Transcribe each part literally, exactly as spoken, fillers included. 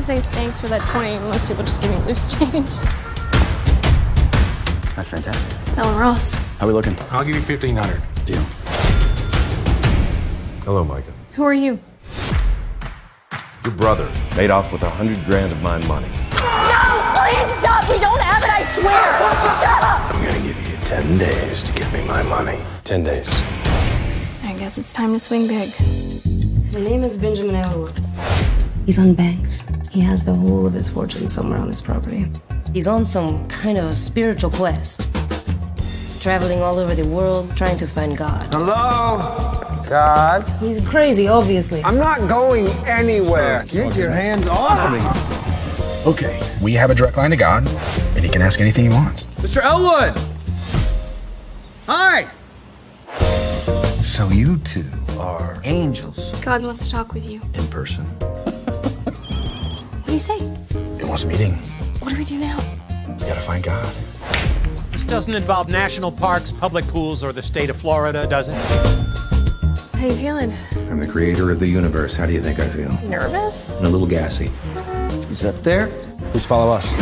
to say thanks for that twenty. Most people just give me loose change. That's fantastic. Ellen Ross. How we looking? I'll give you fifteen hundred. Deal. Hello, Micah. Who are you? Your brother made off with a hundred grand of my money. No! Please stop! We don't have it, I swear! Stop! I'm gonna give you ten days to give me my money. Ten days. I guess it's time to swing big. My name is Benjamin Elwood. He's unbanked. He has the whole of his fortune somewhere on this property. He's on some kind of spiritual quest. Traveling all over the world, trying to find God. Hello? God? He's crazy, obviously. I'm not going anywhere. Get your hands off me. Okay. We have a direct line to God, and he can ask anything he wants. Mister Elwood! Hi! So you two are angels God wants to talk with you. in person. What do you say? He wants a meeting. What do we do now? We gotta find God. This doesn't involve national parks, public pools, or the state of Florida, does it? How you feeling? I'm the creator of the universe. How do you think I feel? Nervous? And a little gassy. He's up there. Please follow us.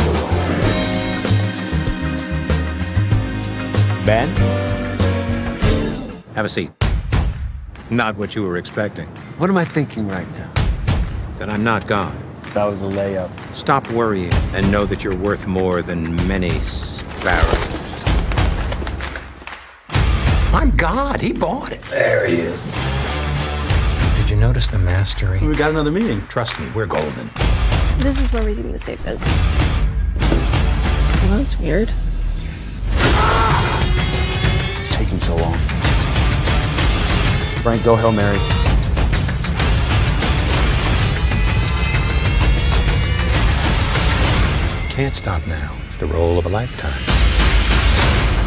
Ben? Have a seat. Not what you were expecting. What am I thinking right now? That I'm not God. That was a layup. Stop worrying and know that you're worth more than many sparrows. I'm God. He bought it. There he is. Did you notice the mastery? We got another meeting. Trust me, we're golden. This is where we think the safe is. Well, that's weird. It's taking so long. Frank, go Hail Mary. Can't stop now. It's the role of a lifetime.